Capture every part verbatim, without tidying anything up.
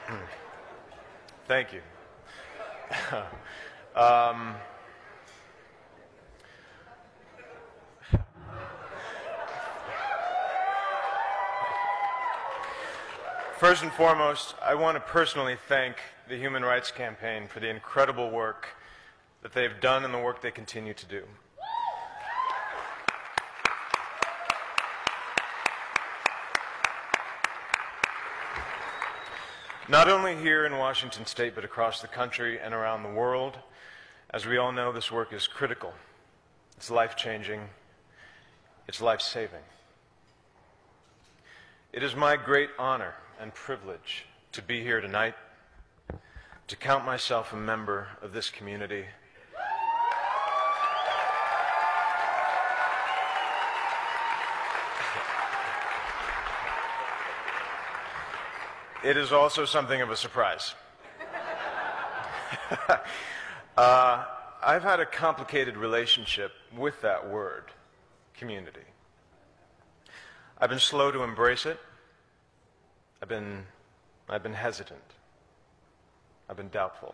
Thank you. um, First and foremost, I want to personally thank the Human Rights Campaign for the incredible work that they've done and the work they continue to do. Not only here in Washington State, but across the country and around the world. As we all know, this work is critical. It's life-changing. It's life-saving. It is my great honor and privilege to be here tonight, to count myself a member of this community. It is also something of a surprise. uh, I've had a complicated relationship with that word, community. I've been slow to embrace it. I've been, I've been hesitant. I've been doubtful.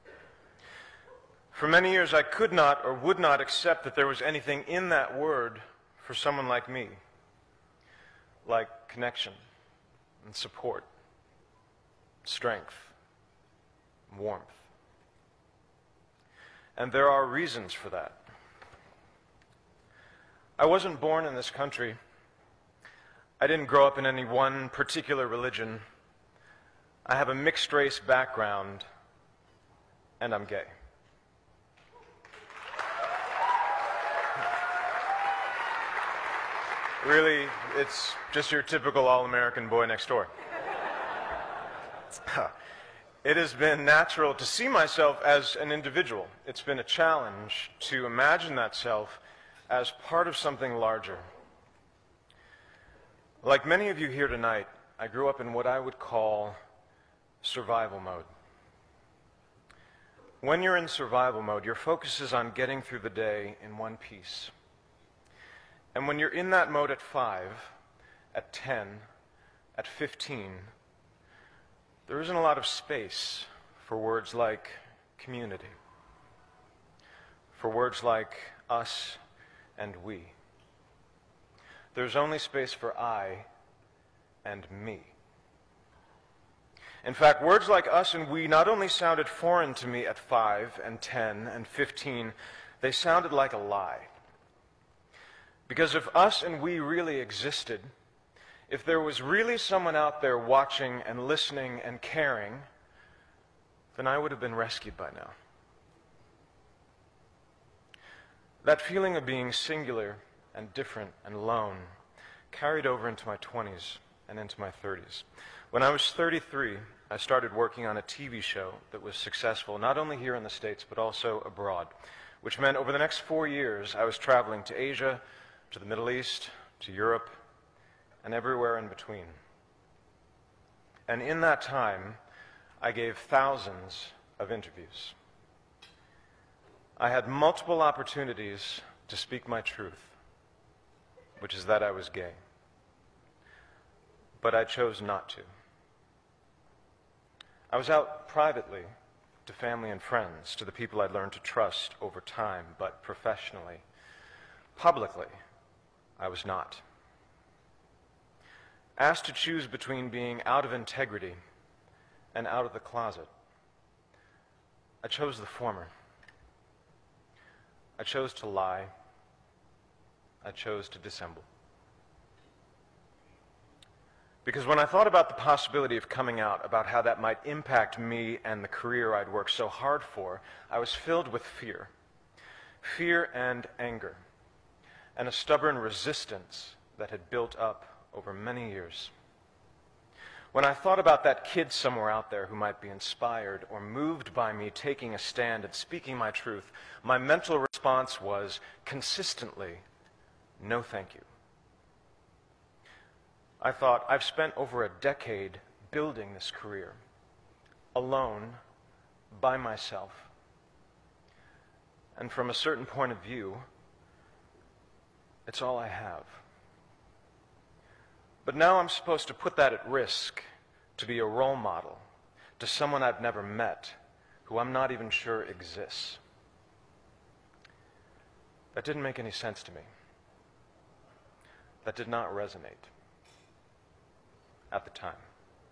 For many years, I could not or would not accept that there was anything in that word for someone like me, like connection and support, strength, warmth. And there are reasons for that. I wasn't born in this country. I didn't grow up in any one particular religion. I have a mixed race background, and I'm gay. Really, it's just your typical all-American boy next door. It has been natural to see myself as an individual. It's been a challenge to imagine that self as part of something larger. Like many of you here tonight, I grew up in what I would call survival mode. When you're in survival mode, your focus is on getting through the day in one piece. And when you're in that mode at five, at ten, at fifteen, there isn't a lot of space for words like community, for words like us and we. There's only space for I and me. In fact, words like us and we not only sounded foreign to me at five and ten and fifteen, they sounded like a lie. Because if us and we really existed, if there was really someone out there watching and listening and caring, then I would have been rescued by now. That feeling of being singular and different and alone carried over into my twenties and into my thirties. When I was thirty-three, I started working on a T V show that was successful, not only here in the States, but also abroad, which meant over the next four years, I was traveling to Asia, to the Middle East, to Europe, and everywhere in between. And in that time, I gave thousands of interviews. I had multiple opportunities to speak my truth, which is that I was gay. But I chose not to. I was out privately to family and friends, to the people I'd learned to trust over time, but professionally, publicly, I was not. Asked to choose between being out of integrity and out of the closet, I chose the former. I chose to lie. I chose to dissemble. Because when I thought about the possibility of coming out, about how that might impact me and the career I'd worked so hard for, I was filled with fear. Fear and anger, and a stubborn resistance that had built up over many years. When I thought about that kid somewhere out there who might be inspired or moved by me taking a stand and speaking my truth, my mental response was consistently, no thank you. I thought, I've spent over a decade building this career, alone, by myself. And from a certain point of view, it's all I have. But now I'm supposed to put that at risk to be a role model, to someone I've never met, who I'm not even sure exists. That didn't make any sense to me. That did not resonate at the time.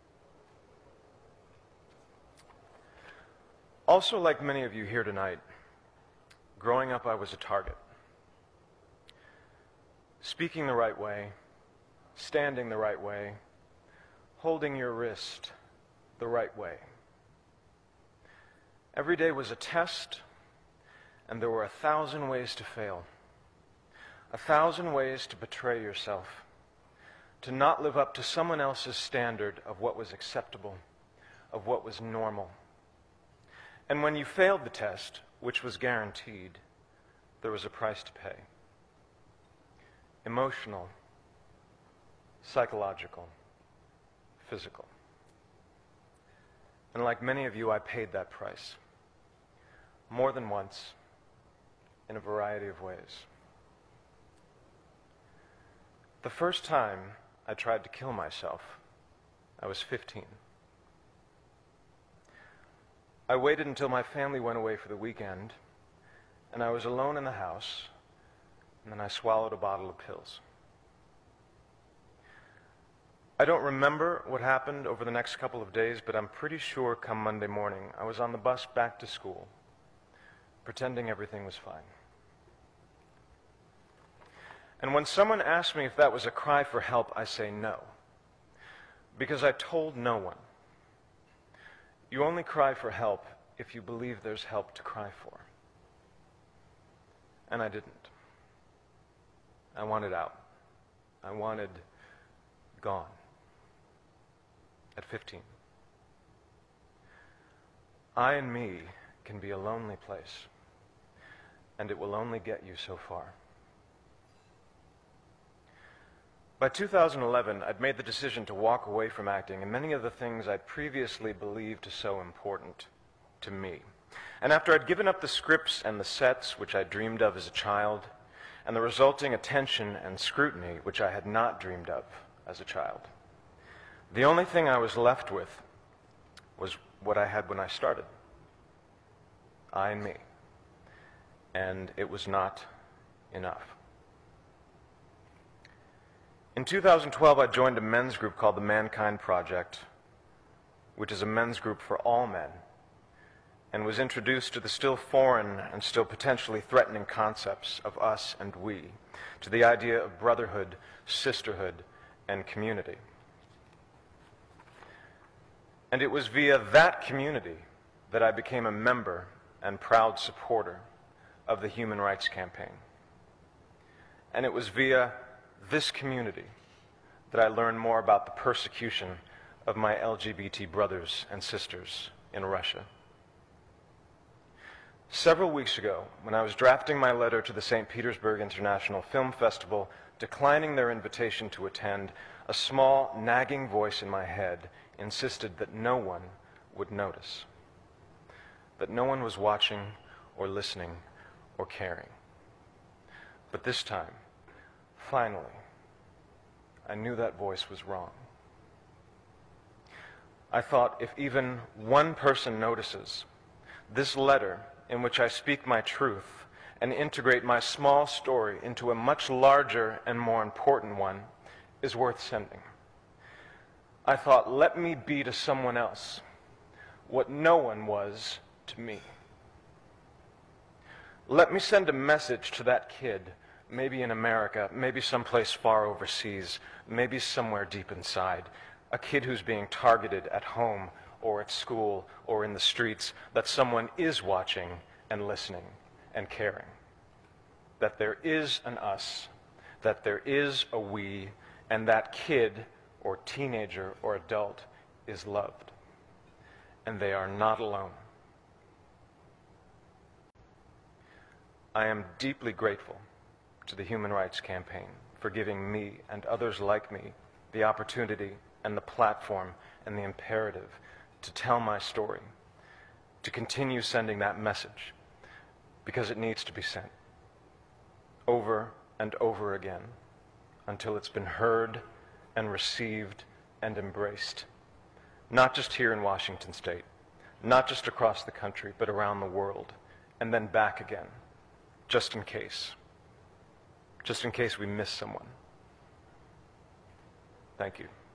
Also, like many of you here tonight, growing up I was a target. Speaking the right way, standing the right way, holding your wrist the right way. Every day was a test, and there were a thousand ways to fail. A thousand ways to betray yourself, to not live up to someone else's standard of what was acceptable, of what was normal. And when you failed the test, which was guaranteed, there was a price to pay. Emotional, psychological, physical. And like many of you, I paid that price. More than once, in a variety of ways. The first time I tried to kill myself, I was fifteen. I waited until my family went away for the weekend, and I was alone in the house, and then I swallowed a bottle of pills. I don't remember what happened over the next couple of days, but I'm pretty sure come Monday morning, I was on the bus back to school, pretending everything was fine. And when someone asks me if that was a cry for help, I say no, because I told no one. You only cry for help if you believe there's help to cry for. And I didn't. I wanted out. I wanted gone. At fifteen. I and me can be a lonely place, and it will only get you so far. By two thousand eleven, I'd made the decision to walk away from acting and many of the things I'd previously believed so important to me. And after I'd given up the scripts and the sets which I dreamed of as a child, and the resulting attention and scrutiny which I had not dreamed of as a child, the only thing I was left with was what I had when I started. I and me. And it was not enough. In two thousand twelve, I joined a men's group called the Mankind Project, which is a men's group for all men, and was introduced to the still foreign and still potentially threatening concepts of us and we, to the idea of brotherhood, sisterhood, and community. And it was via that community that I became a member and proud supporter of the Human Rights Campaign. And it was via this community that I learned more about the persecution of my L G B T brothers and sisters in Russia. Several weeks ago, when I was drafting my letter to the Saint Petersburg International Film Festival, declining their invitation to attend, a small, nagging voice in my head insisted that no one would notice, that no one was watching or listening or caring. But this time, finally, I knew that voice was wrong. I thought, if even one person notices, this letter in which I speak my truth and integrate my small story into a much larger and more important one is worth sending. I thought, let me be to someone else what no one was to me. Let me send a message to that kid, maybe in America, maybe someplace far overseas, maybe somewhere deep inside, a kid who's being targeted at home or at school or in the streets, that someone is watching and listening and caring. That there is an us, that there is a we, and that kid or teenager or adult is loved. And they are not alone. I am deeply grateful to the Human Rights Campaign for giving me and others like me the opportunity and the platform and the imperative to tell my story, to continue sending that message, because it needs to be sent over and over again until it's been heard and received and embraced not just here in Washington State, not just across the country, but around the world, and then back again, just in case. Just in case we miss someone. Thank you.